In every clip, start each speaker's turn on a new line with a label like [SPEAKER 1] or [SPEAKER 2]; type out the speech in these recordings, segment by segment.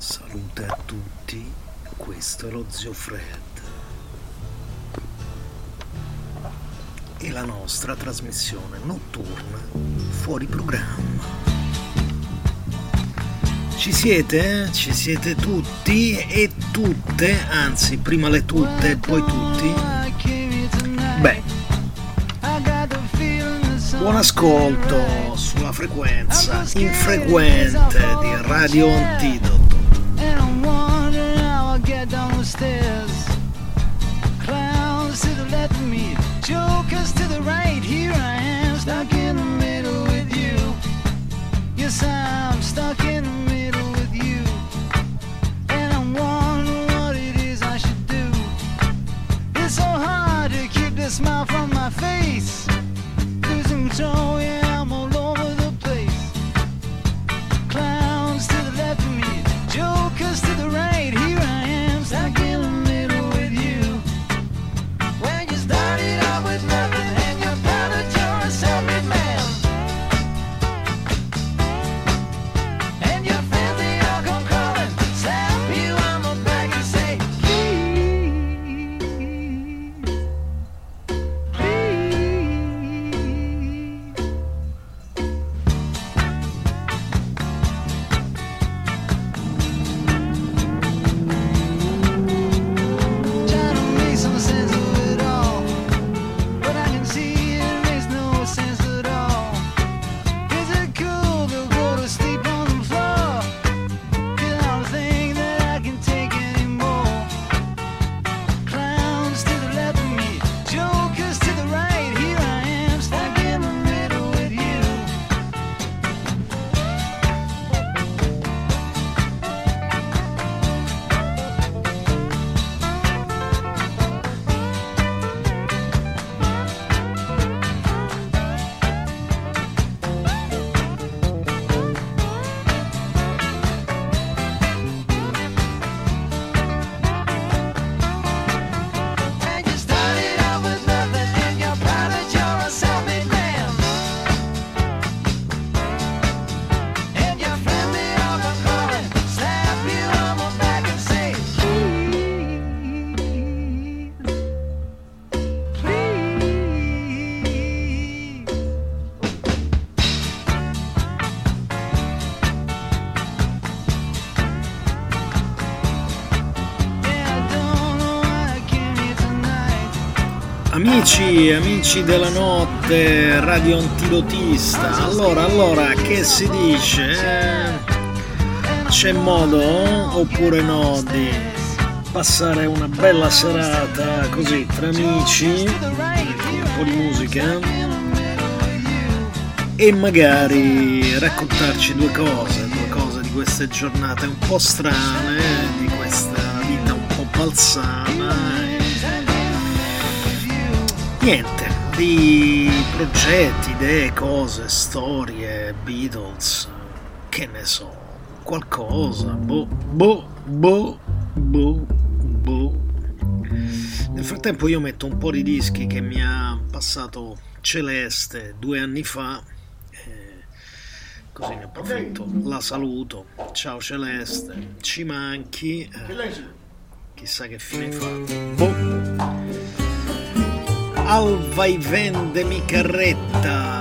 [SPEAKER 1] Salute a tutti, questo è lo Zio Fred e la nostra trasmissione notturna fuori programma. Ci siete? Ci siete tutti e tutte, anzi prima le tutte e poi tutti? Beh, buon ascolto sulla frequenza infrequente di Radio Antidoto. Clowns to the left of me, jokers to the right. Here I am, stuck in the middle with you. Yes, I'm stuck in the middle with you. And I'm wondering what it is I should do. It's so hard to keep the smile from my face. Losing control, yeah, I'm all over the place. Clowns to the left of me, jokers to the right. Here I am, stuck in the middle with you. When you started out with nothing and you're proud that you're a self-made man, and your friends they all come calling, slap you on the back and say, please, trying to make some sense of it all, but I can see it makes no sense at all. Is it cool to go to sleep on the floor? 'Cause I don't think that I can take anymore. Clowns to the left of me, jokers to the right. Here I am, stuck in the middle with you. And you started out with nothing and you're proud that you're a self-made man, and your friends they all come calling, slap you on the back and say, please, please. Yeah, I don't know why I came here tonight. Amici della notte, radio antidotista. Allora, che si dice? C'è modo oppure no di passare una bella serata così tra amici, con un po' di musica e magari raccontarci due cose di queste giornate un po' strane, di questa vita un po' balzana e niente, di progetti, idee, cose, storie, Beatles, che ne so, qualcosa, boh. Nel frattempo io metto un po' di dischi che mi ha passato Celeste 2 anni fa, così ne approfitto, la saluto, ciao Celeste, ci manchi, chissà che fine hai fatto, al vai vendemi carretta,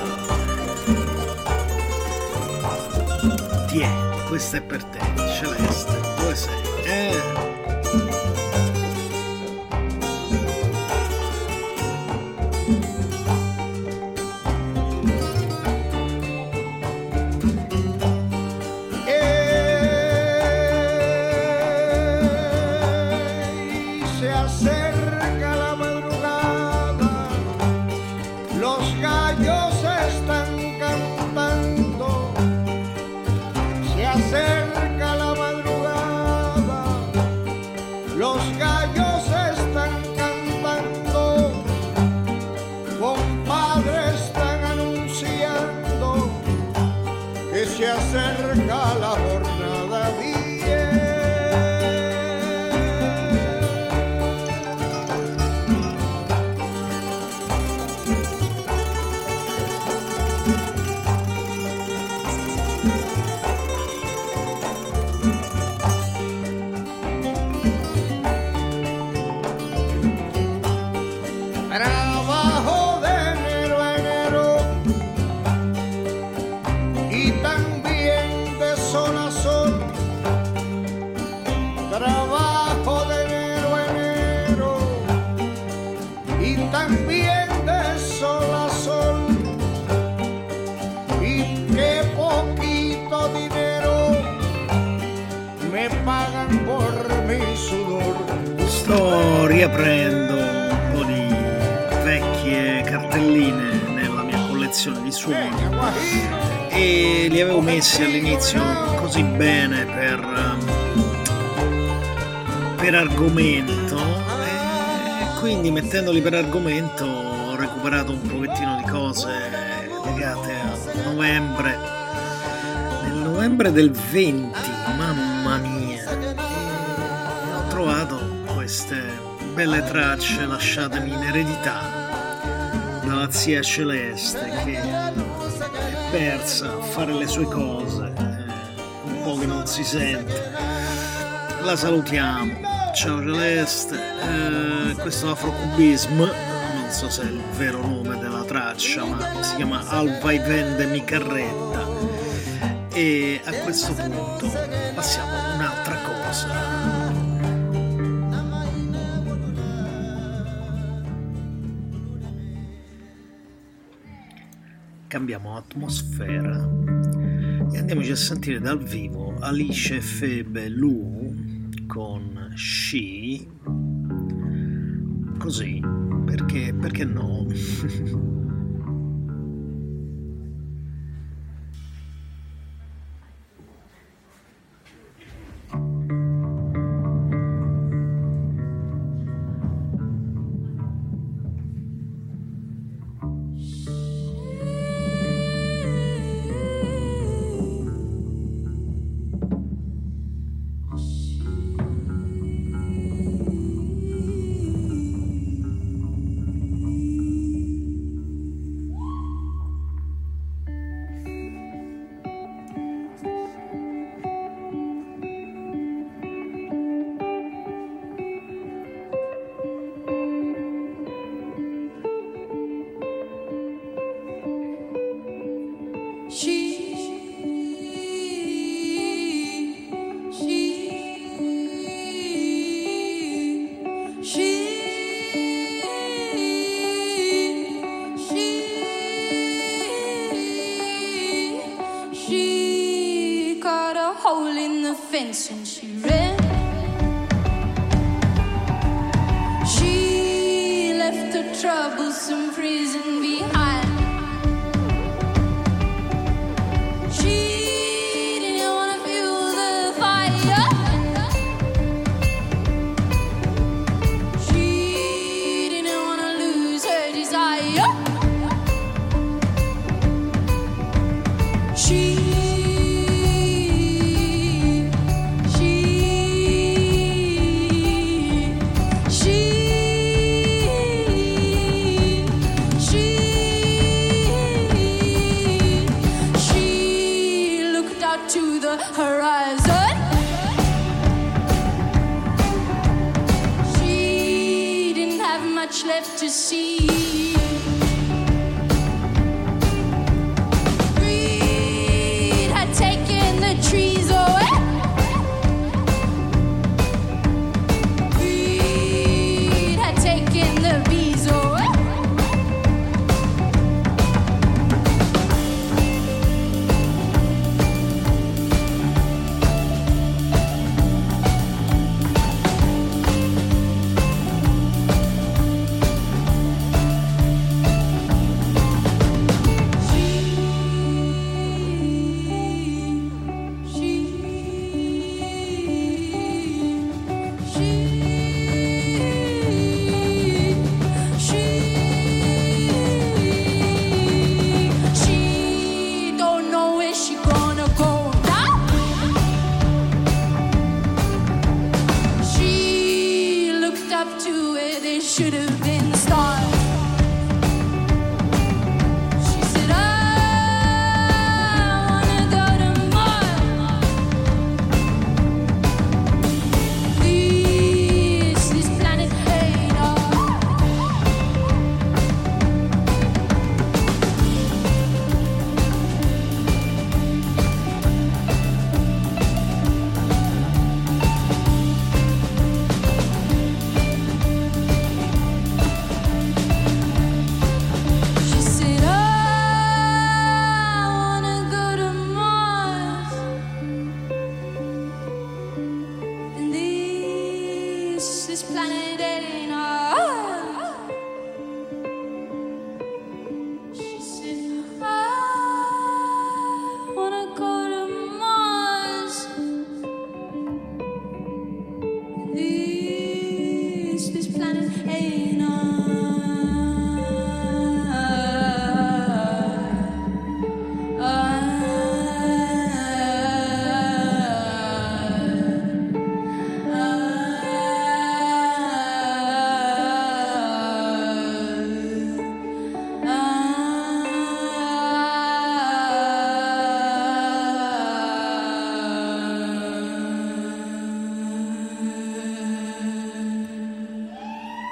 [SPEAKER 1] tiè, questa è per te Celeste, dove sei?
[SPEAKER 2] Se acerca la madrugada, los gallos están cantando. Se acerca la madrugada, los gallos están cantando. Compadre, están anunciando que se acerca la jornada 10.
[SPEAKER 3] Sto riaprendo un po' di vecchie cartelline nella mia collezione di suoni e li avevo messi all'inizio così bene per argomento, e quindi mettendoli per argomento ho recuperato un pochettino di cose legate a novembre, nel novembre del 20, mamma mia, e ho trovato queste belle tracce lasciatemi in eredità dalla zia Celeste, che è persa a fare le sue cose, un po' che non si sente. La salutiamo, ciao Celeste. Questo afrocubismo, non so se è il vero nome della traccia, ma si chiama Al vai vende mi carretta, e a questo punto passiamo ad un'altra cosa. Cambiamo atmosfera e andiamoci a sentire dal vivo Alice Febe Lu con She, così, perché no?
[SPEAKER 4] And she ran. She left her troublesome prison behind. She didn't want to feel the fire. She didn't want to lose her desire. Horizon. She didn't have much left to see. Greed had taken the trees away. Greed had taken the bees away.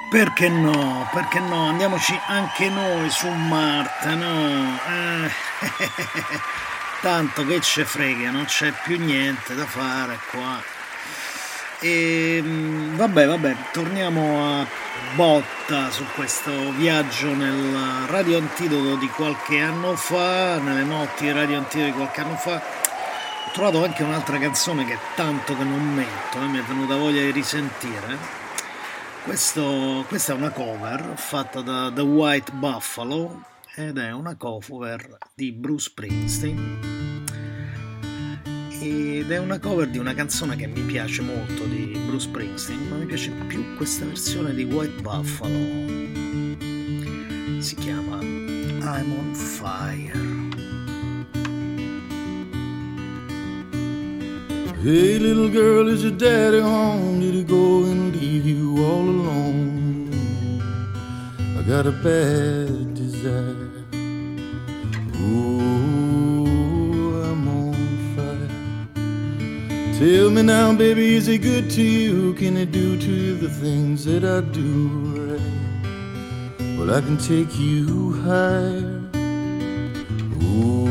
[SPEAKER 3] Perché no? Perché no? Andiamoci anche noi su Marte, no? Tanto che ce frega, non c'è più niente da fare qua. E vabbè, torniamo a botta su questo viaggio nel Radio Antidoto di qualche anno fa, nelle notti di Radio Antidoto di qualche anno fa. Ho trovato anche un'altra canzone che è tanto che non metto, mi è venuta voglia di risentire. Questa è una cover fatta da The White Buffalo ed è una cover di Bruce Springsteen ed è una cover di una canzone che mi piace molto di Bruce Springsteen, ma mi piace più questa versione di White Buffalo. Si chiama I'm on Fire.
[SPEAKER 5] Hey little girl, is your daddy home? Did he go and leave you all alone? I got a bad desire. Ooh, I'm on fire. Tell me now, baby, is he good to you? Can he do to you the things that I do right? Well, I can take you higher. Ooh,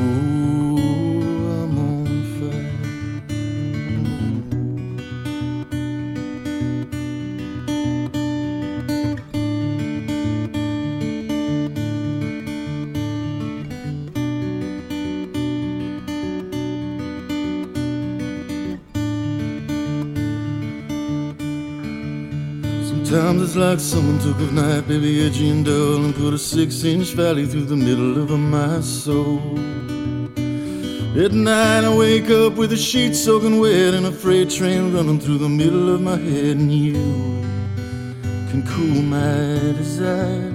[SPEAKER 5] sometimes it's like someone took a knife, baby, edgy and dull, and put a 6-inch valley through the middle of my soul. At night I wake up with the sheets soaking wet and a freight train running through the middle of my head, and you can cool my desire.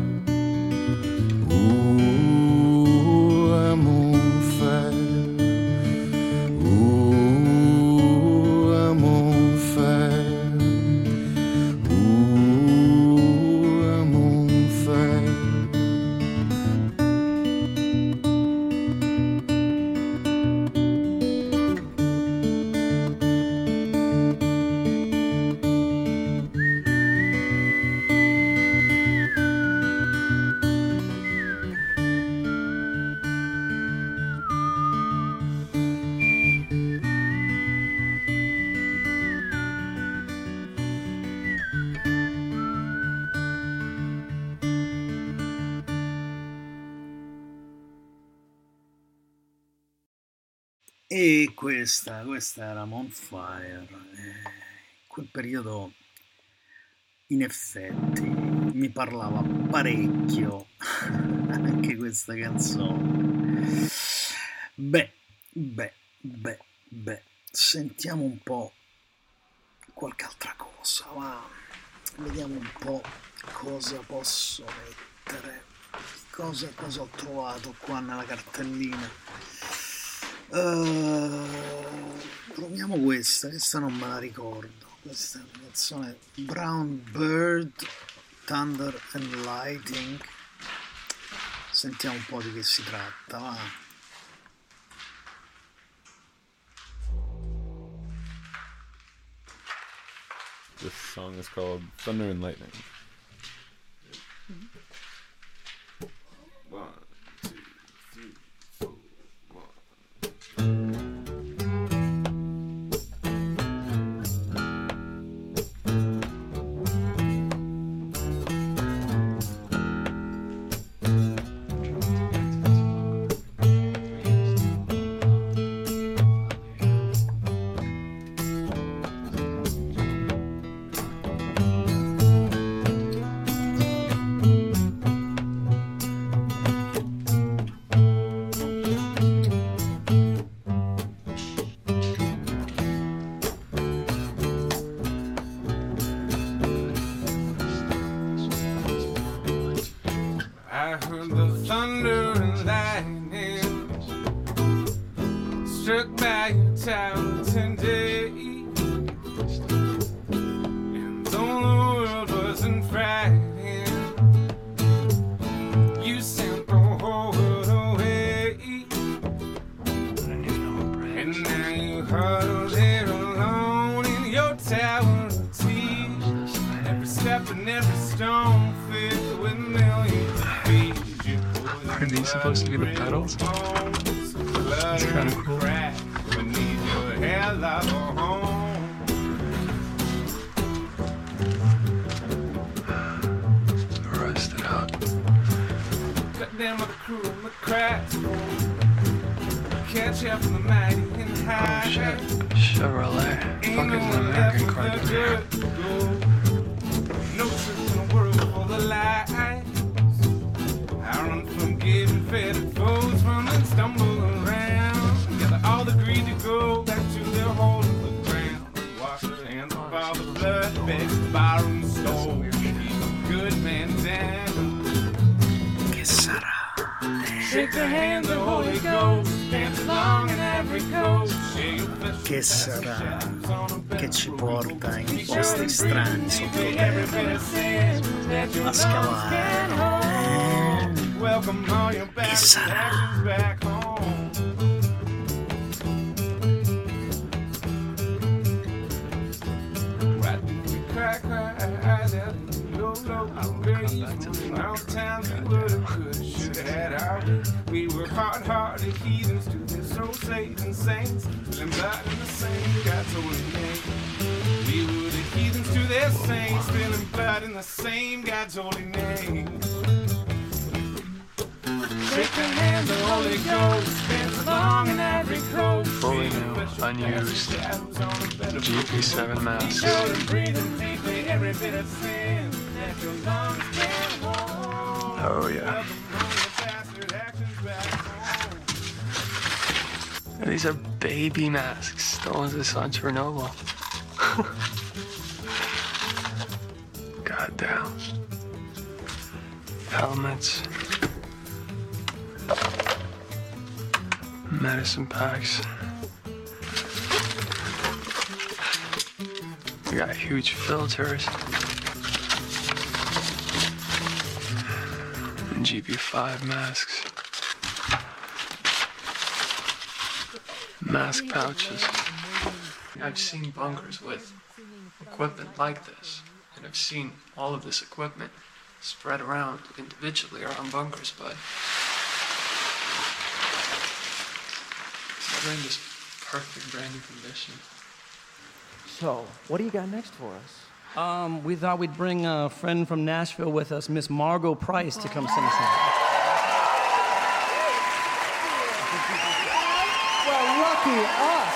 [SPEAKER 5] Ooh, I'm on fire. Ooh, I'm on fire.
[SPEAKER 3] E questa era On Fire. In quel periodo in effetti mi parlava parecchio anche questa canzone. Beh, sentiamo un po' qualche altra cosa, va. Vediamo un po' cosa posso mettere, cosa ho trovato qua nella cartellina. Proviamo questa non me la ricordo. Questa è una canzone, Brown Bird, Thunder and Lightning. Sentiamo un po' di che si tratta, va.
[SPEAKER 6] This song is called Thunder and Lightning. 1, 2, 3, 4, 1.
[SPEAKER 7] I heard the thunder and lightning struck by your tower today, and though the world wasn't frightened, you sent the whole world away, and now you huddle there alone in your tower of tea, every step and every stone filled with millions of feet.
[SPEAKER 8] Are these supposed to be the pedals? It's kind of cool.
[SPEAKER 7] Beneath your hair like a home.
[SPEAKER 8] Rusted out.
[SPEAKER 7] Cut down with the crew and the cracks. Catch up with the mighty and high.
[SPEAKER 8] Oh shit. Chevrolet. Fuck is an American car doing here?
[SPEAKER 7] No truth in the world for the lies. I run from giving fetid foes, run and stumble around. Gather all the greed to go back to their hole in the ground. Wash their hands of all the blood, beg, borrow and stole. Keep a good man down.
[SPEAKER 3] Che sarà?
[SPEAKER 7] Shake the hand of Holy Ghost, dance along in every coast.
[SPEAKER 3] Che sarà? Che ci porta in posti strani sottoterra a scavare? Che sarà?
[SPEAKER 7] We were hard-hearted heathens to their soul saving saints, spilling blood in the same God's holy name. We were the heathens to their saints, spilling blood in the same God's holy name. Shake the hand of the Holy Ghost, dance along in every coast.
[SPEAKER 8] Fully new, unused GP7 masks. Oh yeah. These are baby masks. The ones that saw Chernobyl. Goddamn. Helmets. Medicine packs. We got huge filters. And GP5 masks. Mask pouches. I've seen bunkers with equipment like this, and I've seen all of this equipment spread around individually around bunkers, but they're in this perfect brand new condition.
[SPEAKER 9] So, what do you got next for us?
[SPEAKER 10] We thought we'd bring a friend from Nashville with us, Miss Margot Price, to come sing us out.
[SPEAKER 9] Well, lucky us.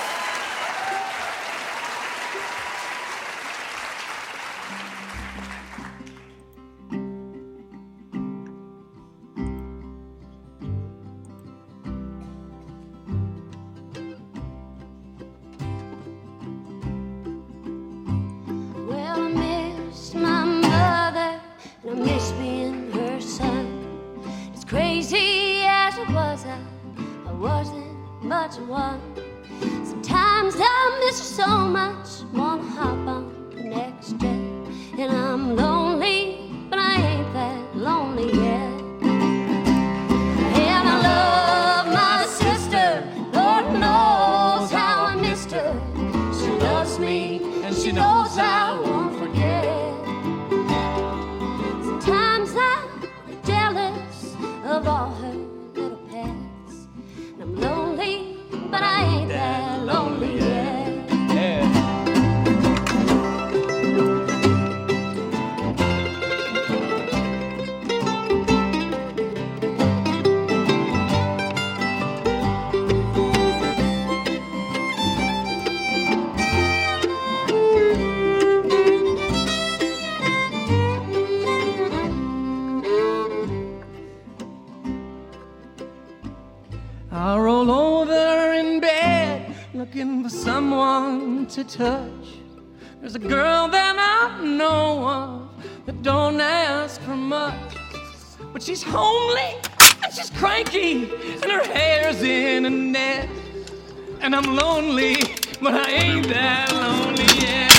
[SPEAKER 4] Well, I miss my mother, and I miss being her son. As crazy as I was, I wasn't much of one. Sometimes I miss her so much, wanna hop on the next jet. And I'm lonely, but I ain't that lonely yet. And I love my sister, Lord knows how I missed her. She loves me, and she knows I won't forget. Sometimes I'm jealous of all her little pets. And I'm lonely, but I ain't that lonely yet.
[SPEAKER 10] I roll over in bed, looking for someone to touch. There's a girl that I know of that don't ask for much, but she's homely and she's cranky and her hair's in a net. And I'm lonely, but I ain't that lonely yet.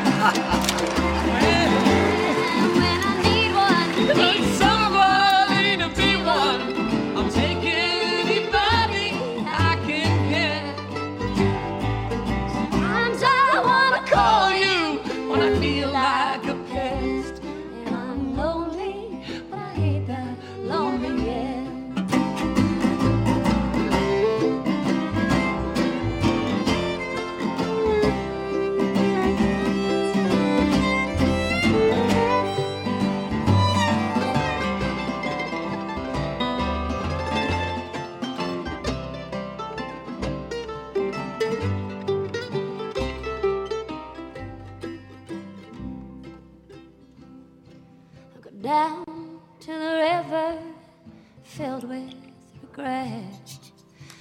[SPEAKER 4] When I need one,
[SPEAKER 10] Need somebody to be one. I'll take anybody I can get.
[SPEAKER 4] sometimes I wanna
[SPEAKER 10] Call you when I feel like a pest.
[SPEAKER 4] and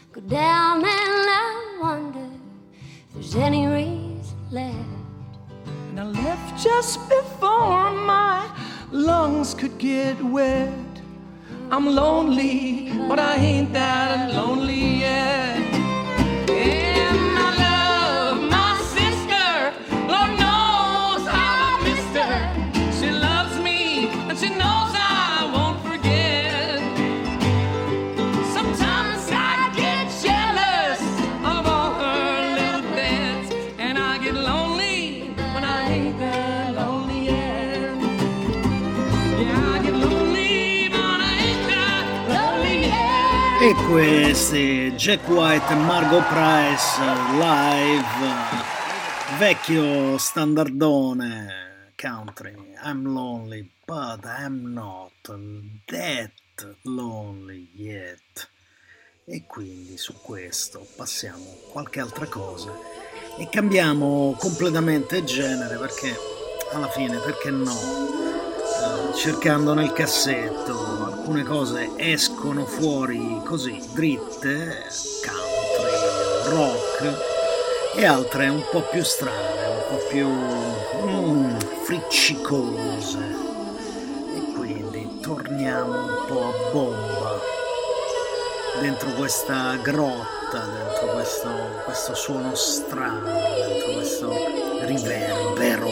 [SPEAKER 4] go down and I wonder if there's any reason left.
[SPEAKER 10] And I left just before my lungs could get wet. I'm lonely, but I ain't that lonely yet. And I love my sister, Lord knows how I missed her. She loves me, and she knows I won't forget. Sometimes I get jealous of all her little beds, and I get lonely when I ain't that lonely yet. Yeah, I get lonely, but I ain't that lonely yet.
[SPEAKER 3] E questi Jack White e Margot Price live, vecchio standardone country. I'm lonely, but I'm not that lonely yet. E quindi su questo passiamo a qualche altra cosa e cambiamo completamente genere, perché alla fine, perché no? Cercando nel cassetto alcune cose escono fuori così dritte, country, rock, e altre un po' più strane, un po' più friccicose, e quindi torniamo un po' a bomba dentro questa grotta, dentro questo suono strano, dentro questo riverbero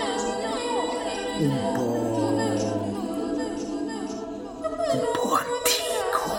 [SPEAKER 3] un po' antico.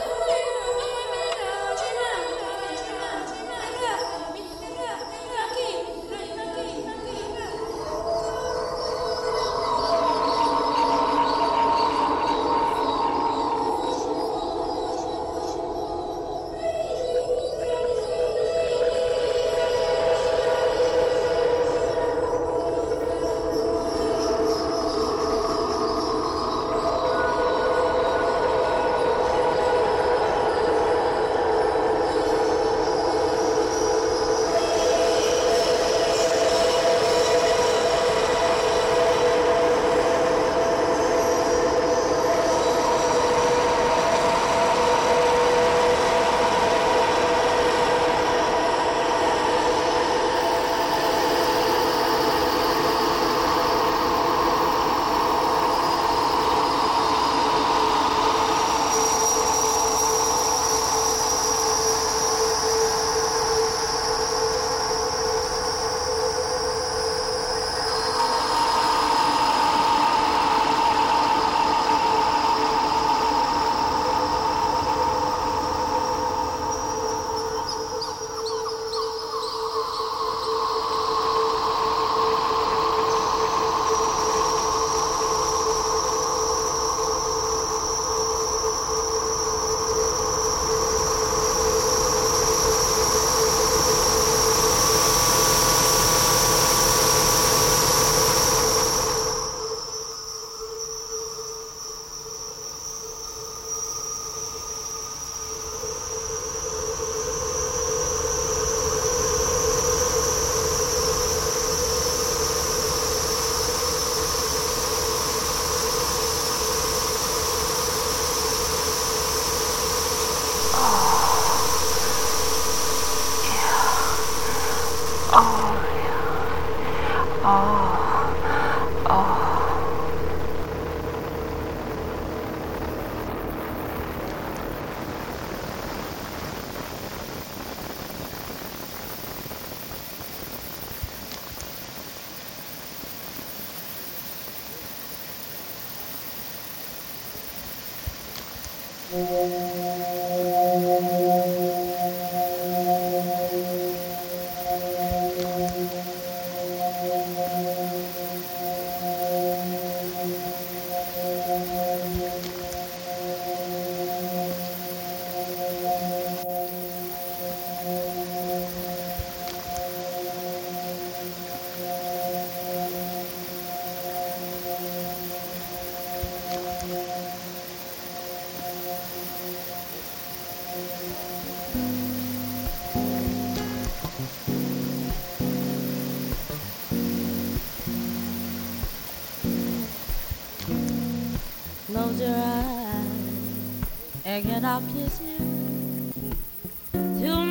[SPEAKER 11] Close your eyes, and I'll kiss you. Tonight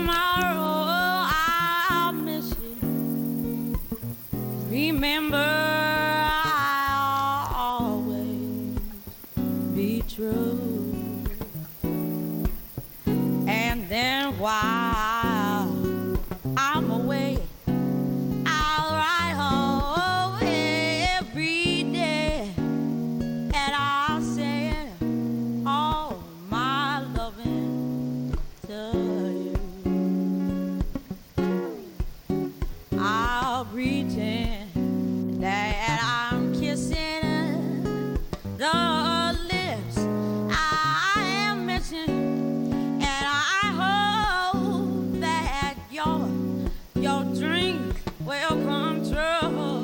[SPEAKER 11] while I'm away, I'll write home every day, and I'll send all my loving to you. I'll pretend that I'm kissing the lips I am missing, and I hope that your dreams will come true.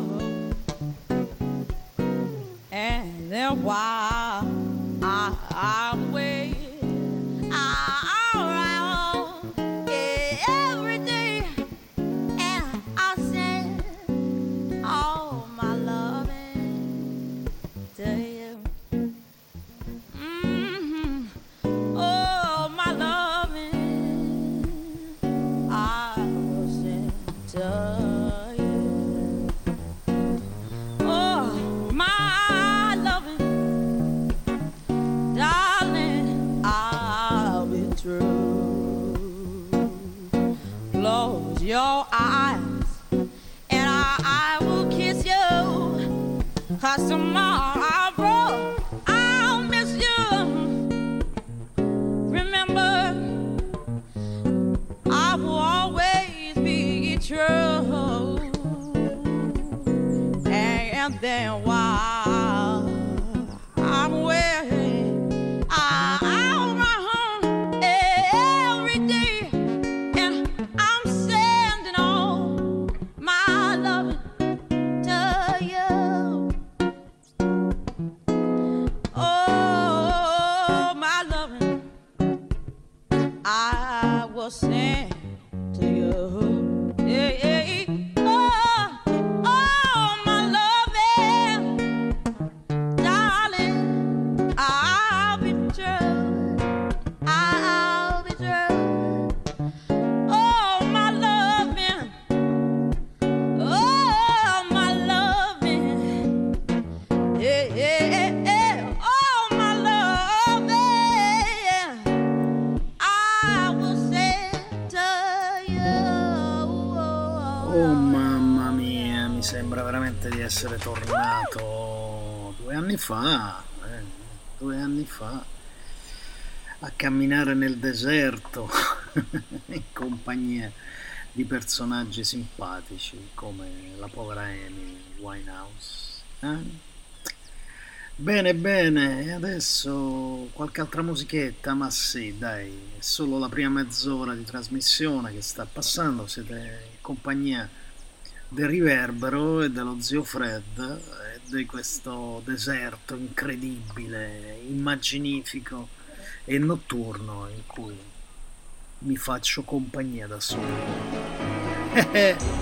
[SPEAKER 11] And then while I'm waiting, I'll write home every day, and I'll send all my loving to you. Oh, my loving, I will send to you. Oh, my loving, darling, I'll be true. Close your eyes, and I will kiss you, 'cause tomorrow I'll miss you. Remember, I will always be true. And then while I'm away, I'll run home every day, and I'm sending all my loving to you. Oh, my loving, I will send to you. Yeah, yeah. Oh, my loving, darling, I'll be true. I'll be true. Oh, my loving, oh, my loving, yeah, yeah, yeah. Oh, my loving, I will send to you.
[SPEAKER 3] Oh mamma mia, mi sembra veramente di essere tornato 2 anni fa, 2 anni fa, a camminare nel deserto in compagnia di personaggi simpatici come la povera Amy Winehouse. Bene, bene, e adesso qualche altra musichetta, ma sì, dai, è solo la prima mezz'ora di trasmissione che sta passando, siete in compagnia del Riverbero e dello zio Fred e di questo deserto incredibile, immaginifico e notturno in cui mi faccio compagnia da solo.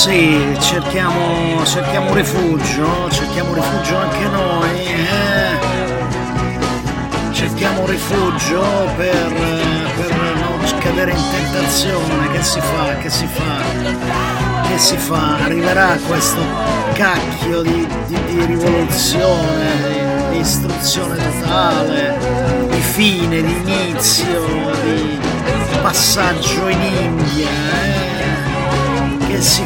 [SPEAKER 3] Sì, cerchiamo rifugio anche noi, cerchiamo rifugio per non cadere in tentazione. Che si fa? Arriverà questo cacchio di rivoluzione, di istruzione totale, di fine, di inizio, di passaggio in India, Che si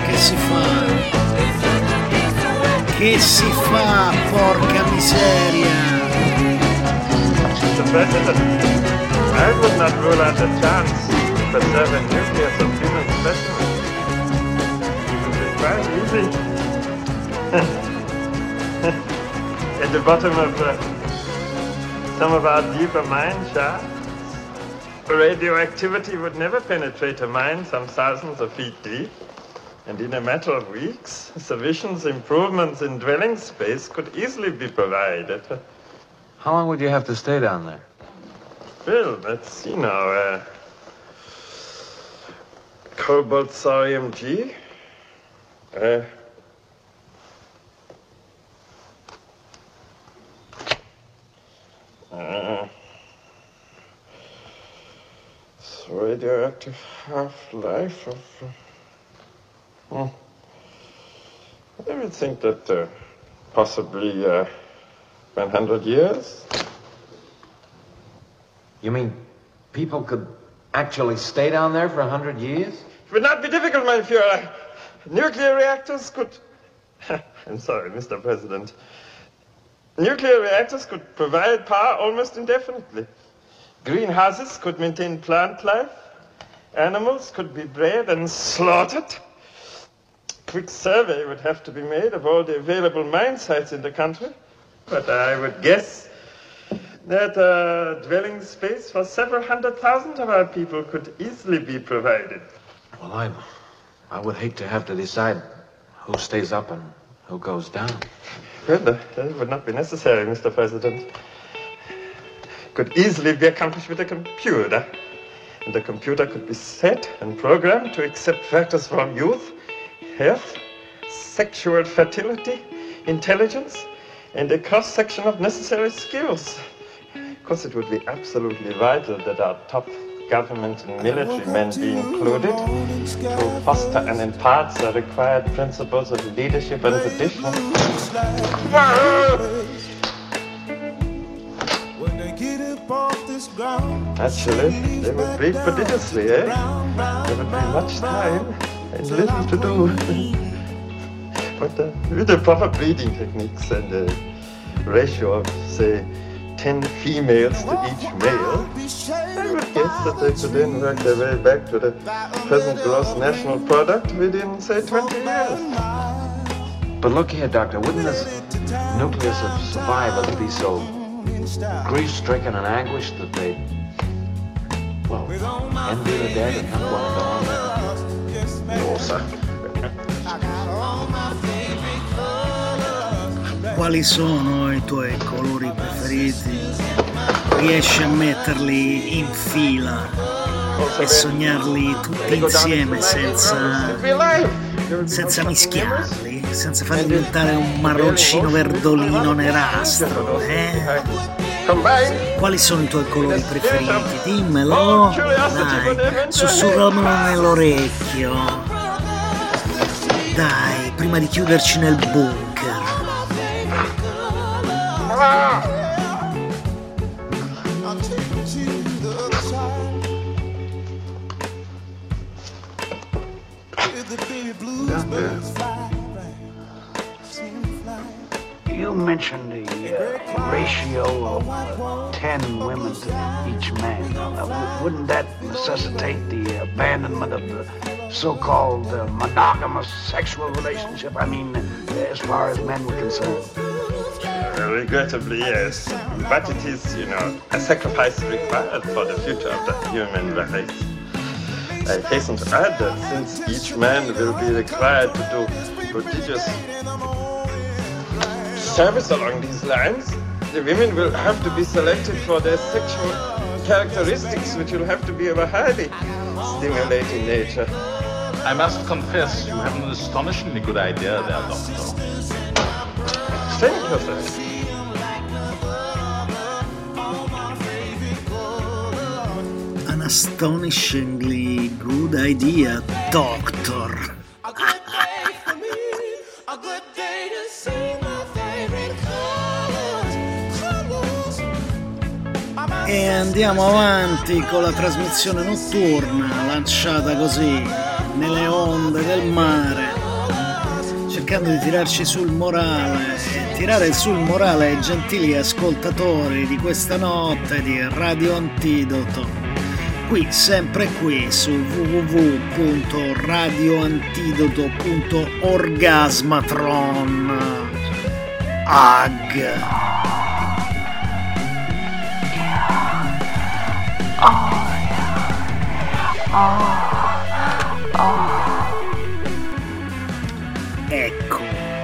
[SPEAKER 3] fa, porca miseria?
[SPEAKER 12] Mr. President, I would not rule out a chance to preserve a nucleus of human specimens. It is quite easy. At the bottom of some of our deeper mine shafts, radioactivity would never penetrate a mine some thousands of feet deep. And in a matter of weeks, sufficient improvements in dwelling space could easily be provided.
[SPEAKER 13] How long would you have to stay down there?
[SPEAKER 12] Well, let's see now. Cobalt thorium G. Radioactive half-life of... I would think that possibly 100 years.
[SPEAKER 13] You mean people could actually stay down there for 100 years?
[SPEAKER 12] It would not be difficult, my Fuhrer. Nuclear reactors could... I'm sorry, Mr. President. Nuclear reactors could provide power almost indefinitely. Greenhouses could maintain plant life. Animals could be bred and slaughtered. Quick survey would have to be made of all the available mine sites in the country. But I would guess that dwelling space for several 100,000 of our people could easily be provided.
[SPEAKER 13] Well, I would hate to have to decide who stays up and who goes down.
[SPEAKER 12] Well, that would not be necessary, Mr. President. Could easily be accomplished with a computer. And the computer could be set and programmed to accept factors from youth, health, sexual fertility, intelligence, and a cross-section of necessary skills. Of course, it would be absolutely vital that our top government and military men be included to foster and impart the required principles of leadership and tradition. Actually, they would read prodigiously, There would be much time and little to do. But with the proper breeding techniques and a ratio of, say, 10 females to each male, I would guess that they could then work their way back to the present gross national product within, say, 20 years.
[SPEAKER 13] But look here, Doctor, wouldn't this nucleus of survival be so grief-stricken and anguished that they, well, envy the dead and not want to go on there?
[SPEAKER 12] No, sir.
[SPEAKER 3] Quali sono i tuoi colori preferiti? Riesci a metterli in fila e sognarli tutti insieme senza mischiarli, senza farli diventare un marroncino verdolino nerastro, Quali sono i tuoi colori preferiti? Dimmelo, dai, sussurramelo nell'orecchio. Dai, prima di chiuderci nel bunker.
[SPEAKER 14] You mentioned the ratio of 10 women to each man. Wouldn't that necessitate the abandonment of the so-called monogamous sexual relationship? I mean, as far as men were concerned.
[SPEAKER 12] Regrettably, yes. But it is, a sacrifice required for the future of the human race. I hasten to add that since each man will be required to do prodigious service along these lines, the women will have to be selected for their sexual characteristics, which will have to be of a highly stimulating nature.
[SPEAKER 15] I must confess, you have an astonishingly good idea there, Doctor.
[SPEAKER 12] Thank you, sir.
[SPEAKER 3] An astonishingly good idea, Doctor. E andiamo avanti con la trasmissione notturna lanciata così nelle onde del mare, cercando di tirarci sul morale e tirare sul morale ai gentili ascoltatori di questa notte di Radio Antidoto, qui sempre qui su www.radioantidoto.orgasmatron. Ecco.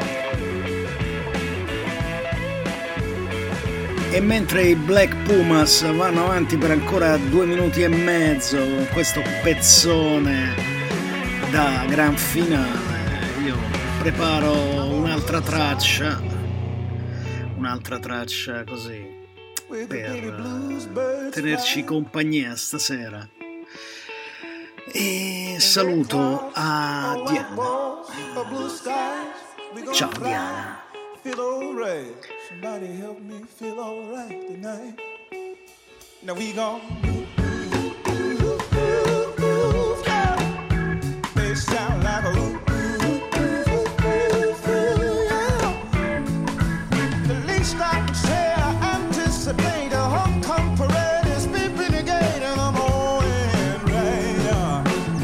[SPEAKER 3] E mentre i Black Pumas vanno avanti per ancora 2 minuti e mezzo con questo pezzone da gran finale, io preparo un'altra traccia così per tenerci compagnia stasera. E saluto a Diana. Ciao Diana.
[SPEAKER 16] Somebody help me feel alright tonight. Now we gon' they sound like a the least I can say I anticipate a homecoming parade is beeping the gate and I'm going right on.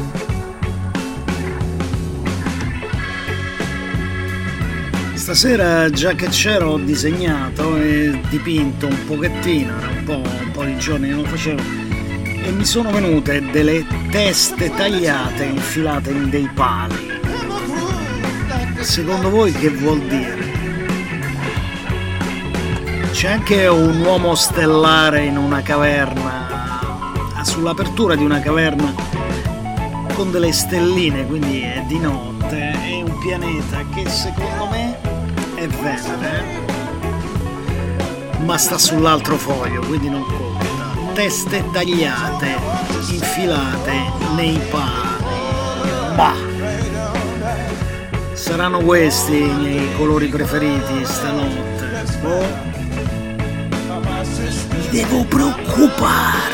[SPEAKER 3] Stasera, già che c'ero, ho disegnato e dipinto un pochettino, era un po' di giorni che non facevo, e mi sono venute delle teste tagliate infilate in dei pali. Secondo voi che vuol dire? C'è anche un uomo stellare in una caverna, sull'apertura di una caverna con delle stelline, quindi è di notte, è un pianeta che secondo me è verde, ma sta sull'altro foglio, quindi non conta. Teste tagliate, infilate nei pani. Bah! Saranno questi i miei colori preferiti stanotte. Oh, mi devo preoccupare.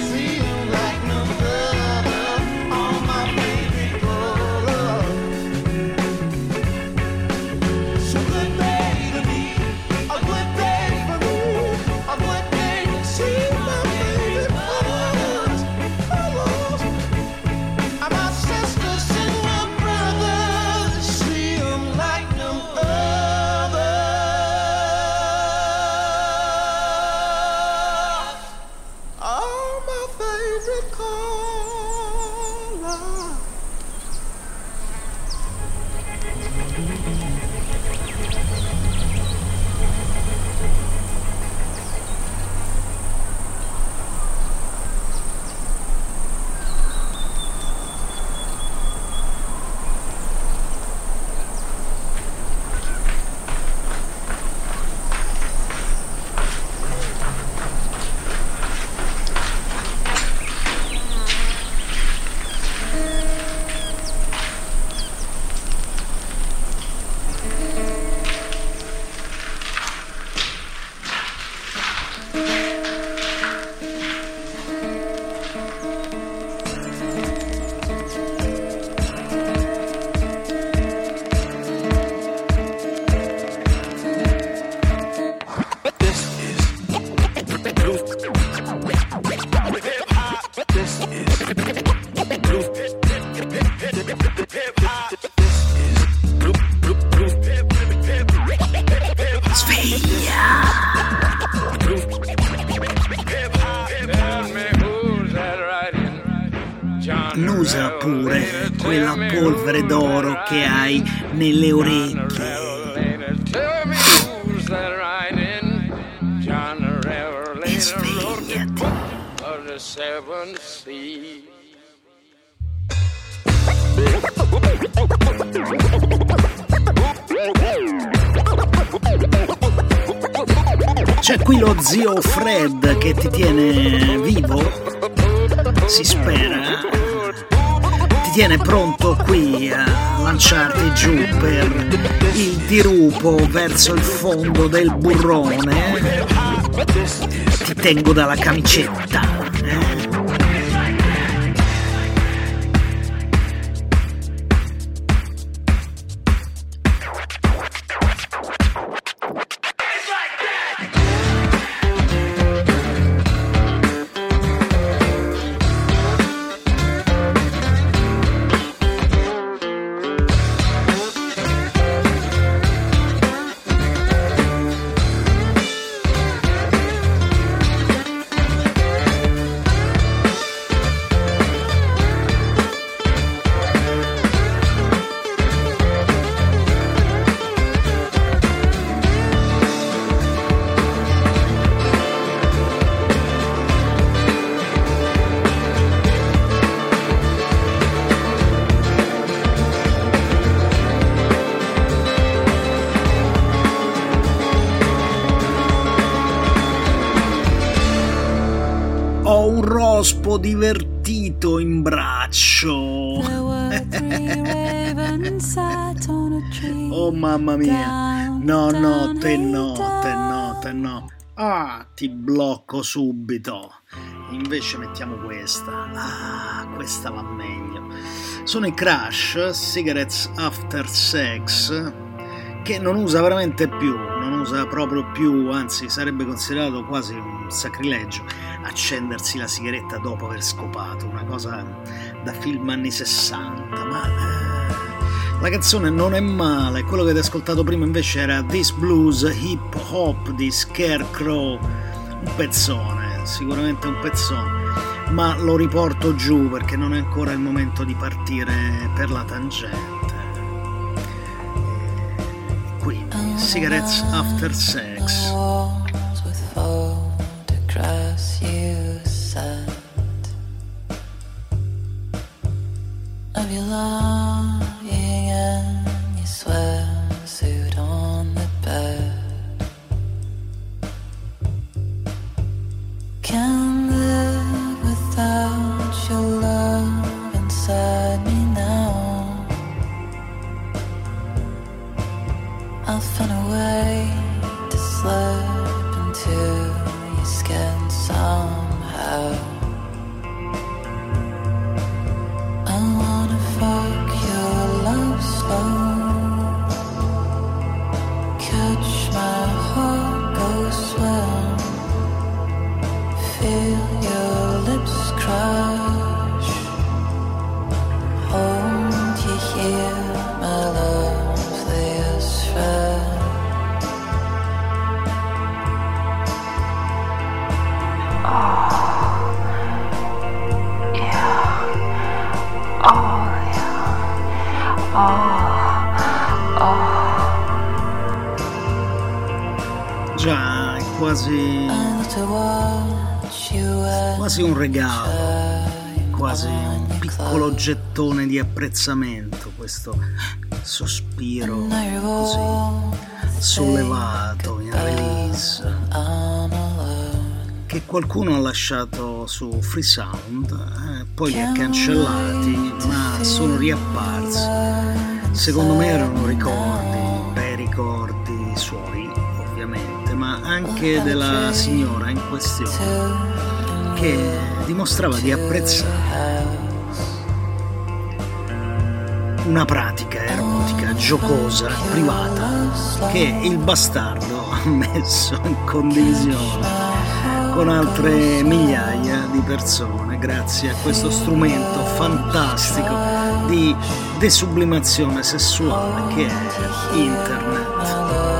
[SPEAKER 3] Annusa pure quella polvere d'oro che hai nelle orecchie. E svegliati. C'è qui lo zio Fred che ti tiene vivo, si spera, ti tiene pronto qui a lanciarti giù per il dirupo verso il fondo del burrone. Ti tengo dalla camicetta. Rospo divertito in braccio. Oh mamma mia, no, te no. Ah, ti blocco subito. Invece mettiamo questa. Ah, questa va meglio. Sono i Crash, Cigarettes After Sex, che non usa veramente più, non usa proprio più, anzi sarebbe considerato quasi un sacrilegio accendersi la sigaretta dopo aver scopato, una cosa da film anni 60, ma la canzone non è male. Quello che avete ascoltato prima invece era This Blues Hip Hop di Scarecrow, un pezzone, sicuramente un pezzone, ma lo riporto giù perché non è ancora il momento di partire per la tangente. Quindi Cigarettes After Sex.
[SPEAKER 17] You sent of you lying in your swimsuit on the bed. Can't live without your love inside me now. I'll find a way to slip into your skin somehow. I wanna fuck your love slow, catch my heart go swim, feel your lips crush, hold you here, my loveliest friend.
[SPEAKER 3] Già, è quasi un regalo, quasi un piccolo gettone di apprezzamento, questo sospiro così sollevato in release che qualcuno ha lasciato su Freesound, poi li ha cancellati, ma sono riapparsi. Secondo me erano ricordi, bei ricordi suoi ovviamente, ma anche della signora in questione che dimostrava di apprezzare una pratica erotica, giocosa, privata, che il bastardo ha messo in condivisione con altre migliaia di persone grazie a questo strumento fantastico di desublimazione sessuale che è internet.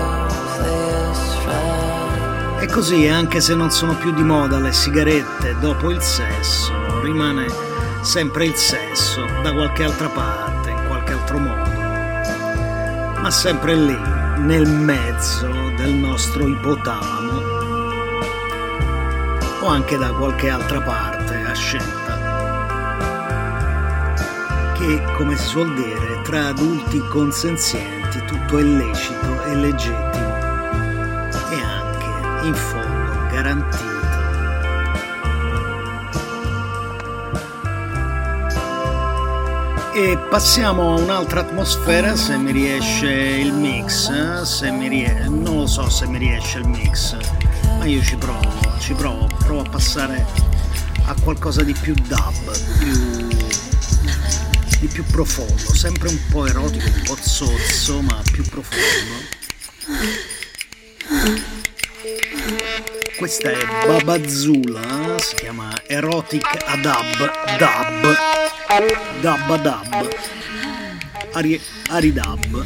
[SPEAKER 3] E così, anche se non sono più di moda le sigarette dopo il sesso, rimane sempre il sesso da qualche altra parte, in qualche altro modo, ma sempre lì, nel mezzo del nostro ipotalamo, o anche da qualche altra parte a scelta, che, come si suol dire, tra adulti consenzienti tutto è lecito e legittimo e anche, in fondo, garantito. E passiamo a un'altra atmosfera, se mi riesce il mix, non lo so se mi riesce il mix, ma io ci provo a passare a qualcosa di più dub, di più profondo, sempre un po' erotico, un po' zozzo, ma più profondo. Questa è Babazula, si chiama Erotic Adab, Dab, Aridab.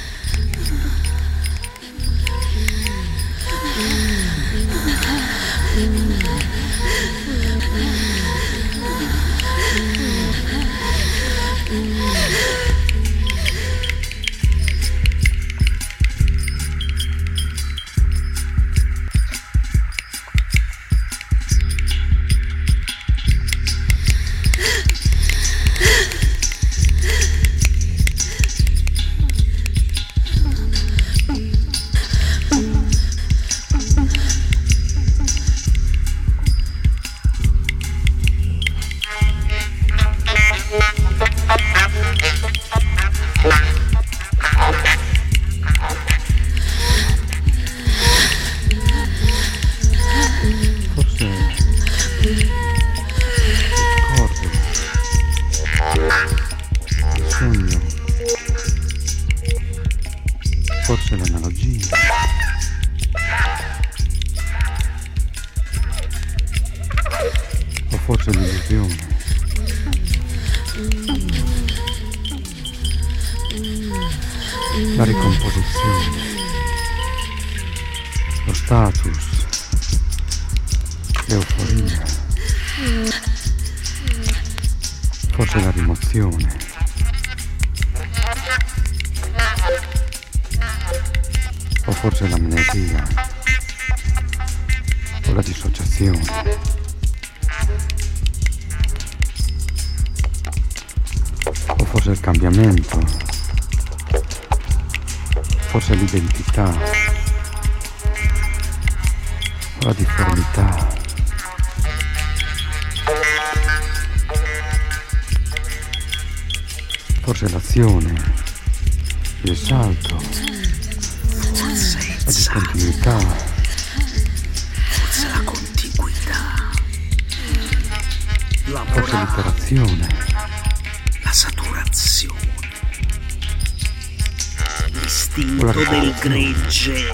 [SPEAKER 18] Forse l'analogia. O forse l'illusione. La ricomposizione. Lo status. L'euforia. Forse la rimozione. O forse l'amnesia, o la dissociazione, o forse il cambiamento, forse l'identità, o la difformità, forse l'azione, il salto, la discontinuità,
[SPEAKER 3] forse la contiguità,
[SPEAKER 18] forse l'interazione,
[SPEAKER 3] la saturazione, l'istinto del gregge,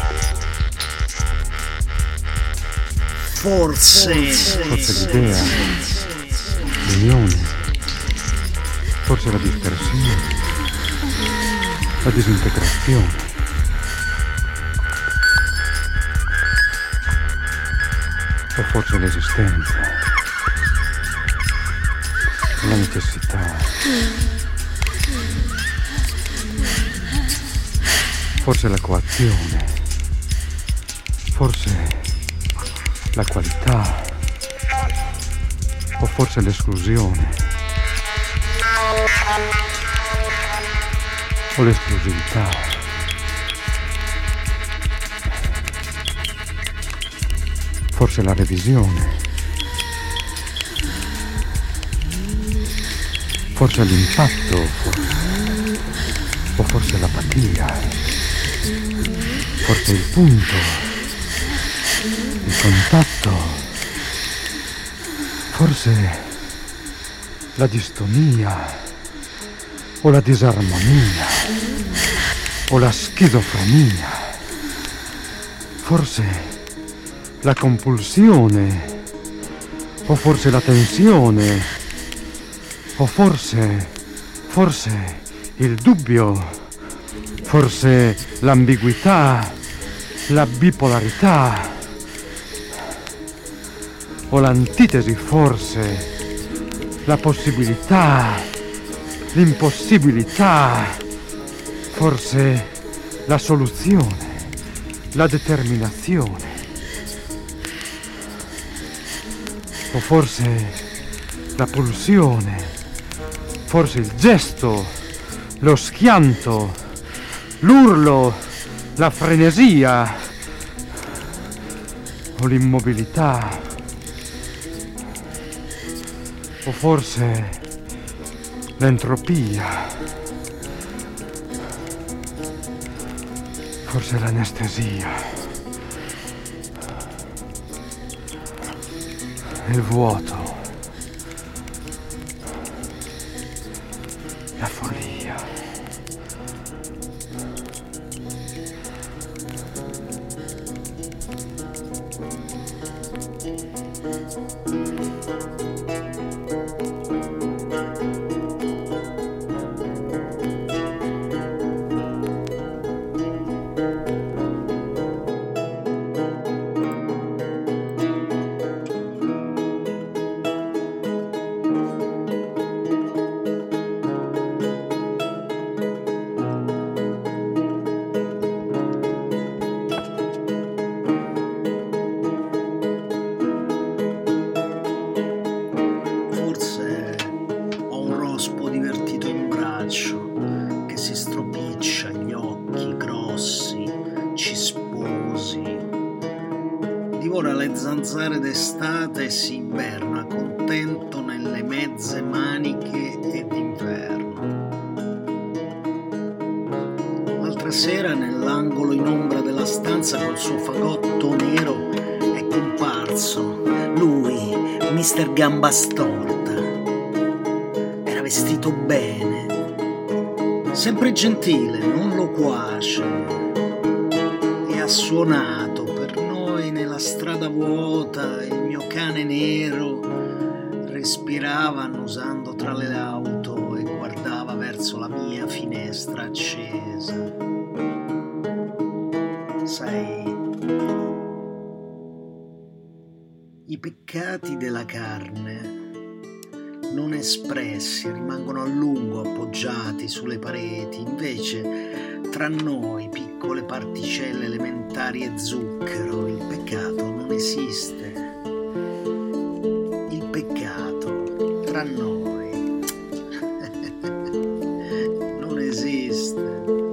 [SPEAKER 3] forse
[SPEAKER 18] l'idea, l'unione, forse la dispersione, la disintegrazione. O forse l'esistenza, la necessità, forse la coazione, forse la qualità, o forse l'esclusione, o l'esclusività. Forse la revisione, forse l'impatto, o forse l'apatia, forse il punto, il contatto, forse la distonia, o la disarmonia, o la schizofrenia, forse la compulsione, o forse la tensione, o forse il dubbio, forse l'ambiguità, la bipolarità, o l'antitesi, forse la possibilità, l'impossibilità, forse la soluzione, la determinazione. O forse la pulsione, forse il gesto, lo schianto, l'urlo, la frenesia o l'immobilità, o forse l'entropia, forse l'anestesia, il vuoto, la follia.
[SPEAKER 3] Zanzare d'estate e si inverna contento nelle mezze maniche e d'inverno. L'altra sera nell'angolo in ombra della stanza col suo fagotto nero è comparso lui, Mr. Gamba Storta. Era vestito bene, sempre gentile, non loquace, e ha suonato nella strada vuota. Il mio cane nero respirava annusando tra le auto e guardava verso la mia finestra accesa. Sai, i peccati della carne non espressi rimangono a lungo appoggiati sulle pareti, invece tra noi piccole particelle elementari e zucchero, il peccato non esiste. Il peccato tra noi non esiste.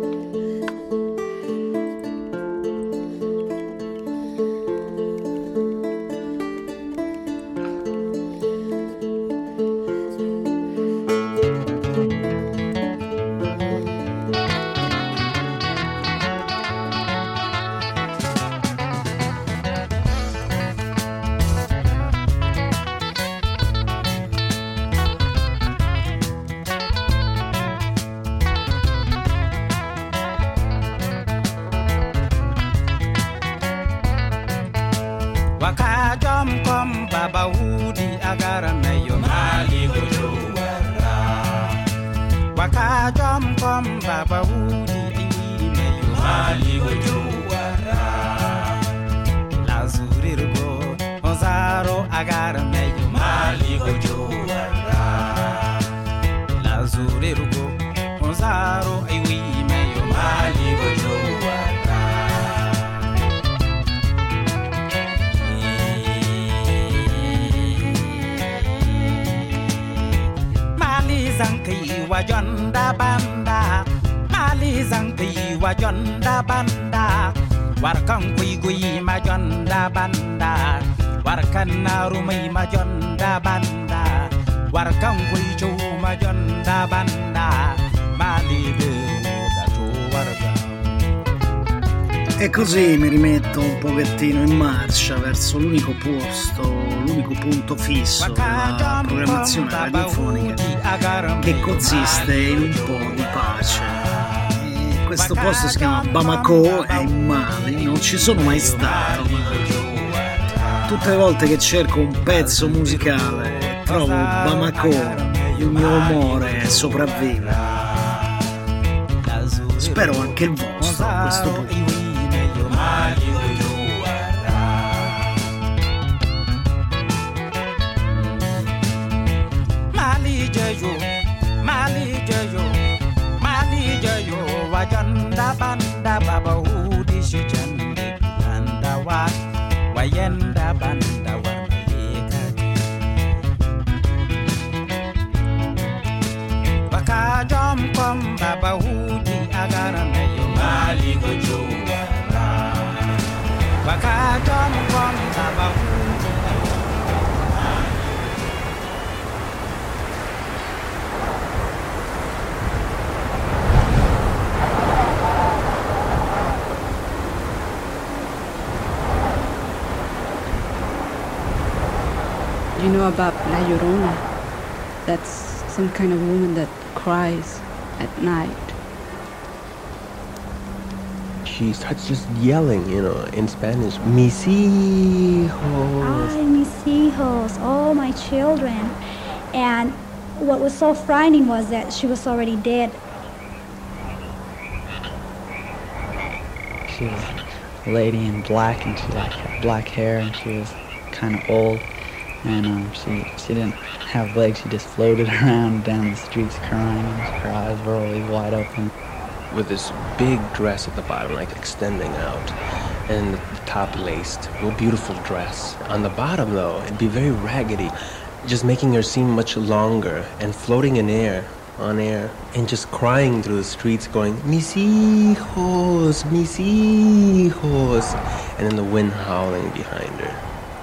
[SPEAKER 19] Wakajom kom baba wudi agara meyo mali gojuwara. Wakajom kom baba wudi meyo mali gojuwara. Lazurirgo ozaro agara meyo mali gojuwara. Lazurirgo ozaro iwi meyo mali gojuwara. Zanki wajonda banda, mali zanki wajonda banda, warkan kui majonda banda, warkan narumai majonda banda, warkan kui chu majonda banda, mali da tu warga.
[SPEAKER 3] E così mi rimetto un pochettino in marcia verso l'unico punto fisso della programmazione radiofonica, che consiste in un po' di pace. E questo posto si chiama Bamako, è in Mali, non ci sono mai stato, ma tutte le volte che cerco un pezzo musicale trovo Bamako, il mio umore sopravvive. Spero anche il vostro a questo punto.
[SPEAKER 19] Mali jayo, wajanda banda baba udi shijandi banda wayenda banda
[SPEAKER 11] you know about La Llorona? That's some kind of woman that cries at night.
[SPEAKER 20] She starts just yelling, in Spanish, mis hijos.
[SPEAKER 21] Ay, mis hijos, oh, my children. And what was so frightening was that she was already dead.
[SPEAKER 22] She was a lady in black, and she had black hair, and she was kind of old. And she didn't have legs, she just floated around down the streets crying, and her eyes were always wide open.
[SPEAKER 20] With this big dress at the bottom, like extending out, and the top laced, real beautiful dress. On the bottom, though, it'd be very raggedy, just making her seem much longer, and floating in air, on air, and just crying through the streets, going, mis hijos, mis hijos, and then the wind howling behind her.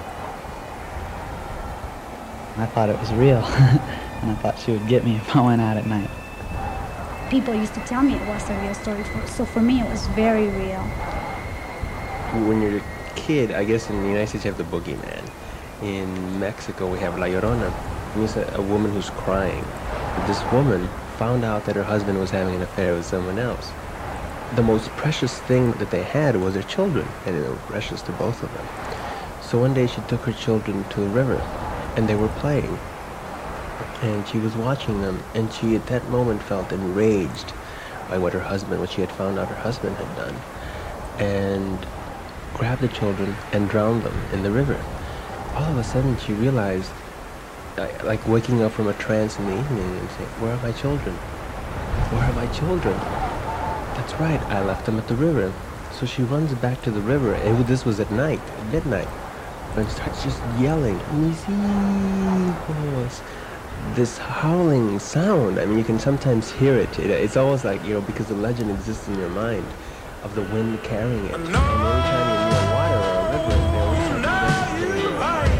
[SPEAKER 22] I thought it was real, and I thought she would get me if I went out at night.
[SPEAKER 21] People used to tell me it was a real story, so for me it was very real.
[SPEAKER 20] When you're a kid, I guess in the United States you have the boogeyman. In Mexico we have La Llorona. It's a woman who's crying. But this woman found out that her husband was having an affair with someone else. The most precious thing that they had was their children, and they were precious to both of them. So one day she took her children to the river, and they were playing. And she was watching them, and she at that moment felt enraged by what she had found out her husband had done, and grabbed the children and drowned them in the river. All of a sudden she realized, like waking up from a trance in the evening and saying, where are my children? Where are my children? That's right, I left them at the river. So she runs back to the river, and this was at night, at midnight, and starts just yelling, mis hijos. This howling sound, I mean, you can sometimes hear it. It's almost like, because the legend exists in your mind of the wind carrying it. And every time you're near water or a river, they always start devastating your mind.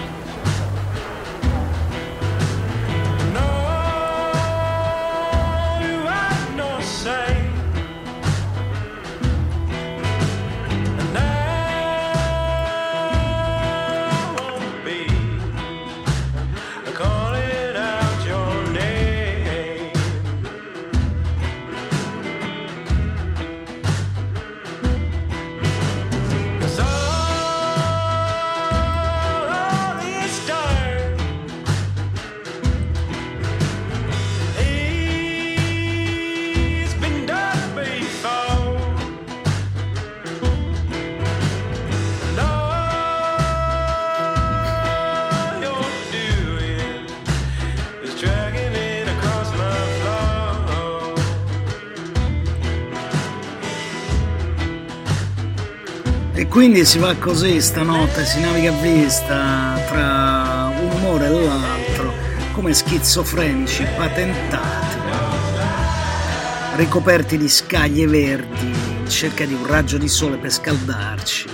[SPEAKER 3] E quindi si va così stanotte, si naviga a vista tra un umore e l'altro, come schizofrenici patentati, ricoperti di scaglie verdi in cerca di un raggio di sole per scaldarci.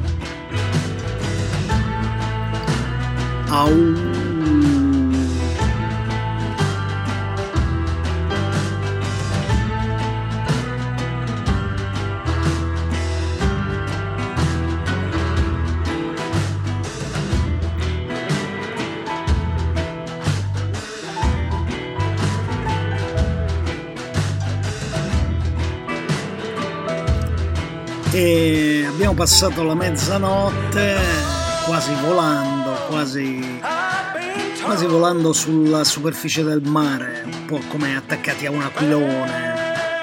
[SPEAKER 3] Au. E abbiamo passato la mezzanotte quasi volando sulla superficie del mare, un po' come attaccati a un aquilone,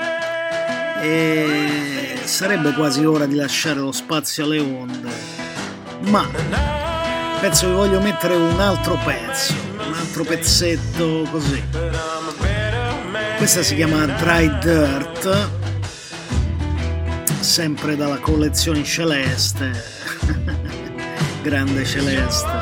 [SPEAKER 3] e sarebbe quasi ora di lasciare lo spazio alle onde, ma penso che voglio mettere un altro pezzetto così. Questa si chiama Dry Dirt, sempre dalla collezione Celeste, grande Celeste.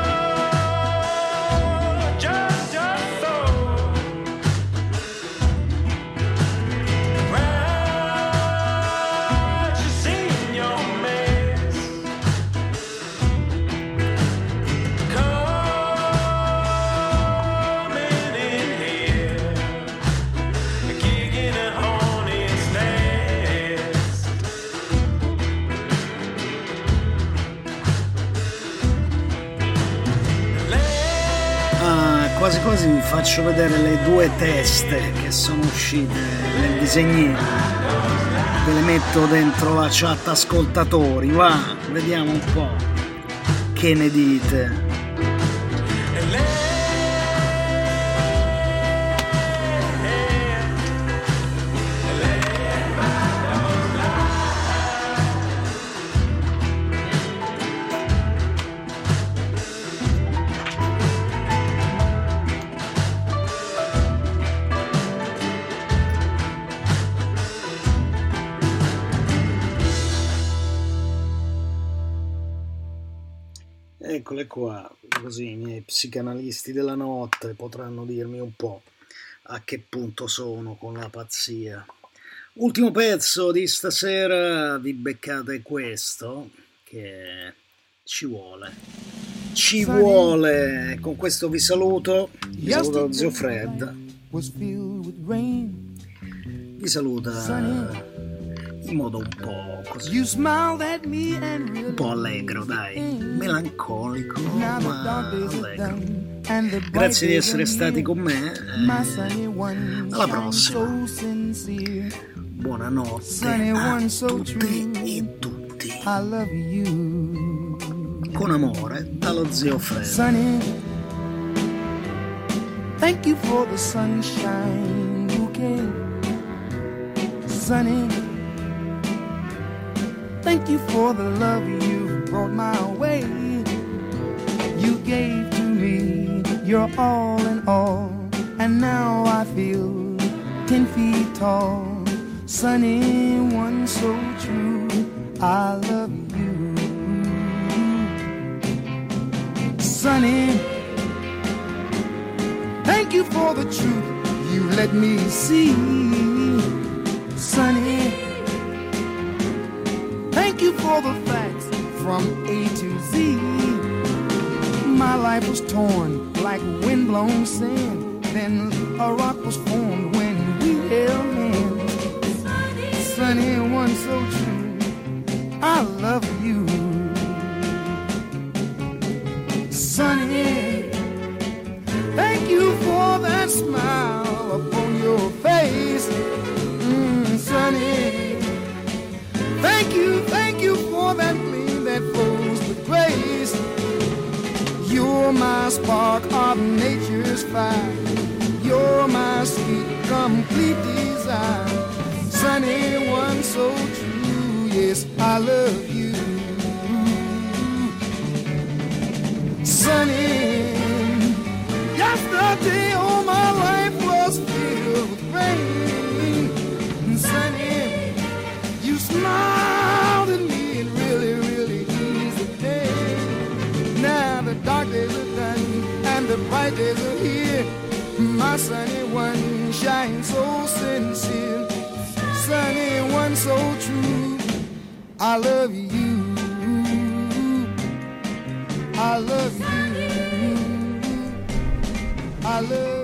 [SPEAKER 3] quasi quasi vi faccio vedere le due teste che sono uscite nel disegnino. Ve le metto dentro la chat ascoltatori, va, vediamo un po' che ne dite. Eccole qua, così i miei psicanalisti della notte potranno dirmi un po' a che punto sono con la pazzia. Ultimo pezzo di stasera, vi beccate questo, che ci vuole. Con questo vi saluto da Zio Fred. Vi saluta in modo un po' così, un po' allegro, dai, melancolico ma allegro. Grazie di essere stati con me, alla prossima, buonanotte a tutti e tutti, con amore dallo Zio Fred.
[SPEAKER 16] Thank you for the sunshine bouquet, Sunny. Thank you for the love you brought my way. You gave to me your all in all, and now I feel 10 feet tall. Sunny, one so true, I love you. Sunny, thank you for the truth you let me see. Sunny, thank you for the facts from A to Z. My life was torn like windblown sand. Then a rock was formed when we held hands. Sunny, one so true, I love you. Sunny, thank you for that smile upon your face. Sunny, thank you for that gleam that flows with grace. You're my spark of nature's fire. You're my sweet, complete desire. Sunny, one so true, yes, I love you. Sunny, yesterday all my life was filled with rain. Sunny, you smiled at me and really, really eased the pain. Now the dark days are done and the bright days are here. My sunny one shines so sincere. Sunny one so true, I love you. I love you. I love you.